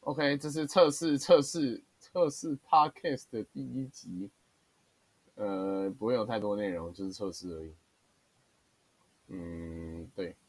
OK，这是测试 Podcast 的第一集，不会有太多内容，就是测试而已。对。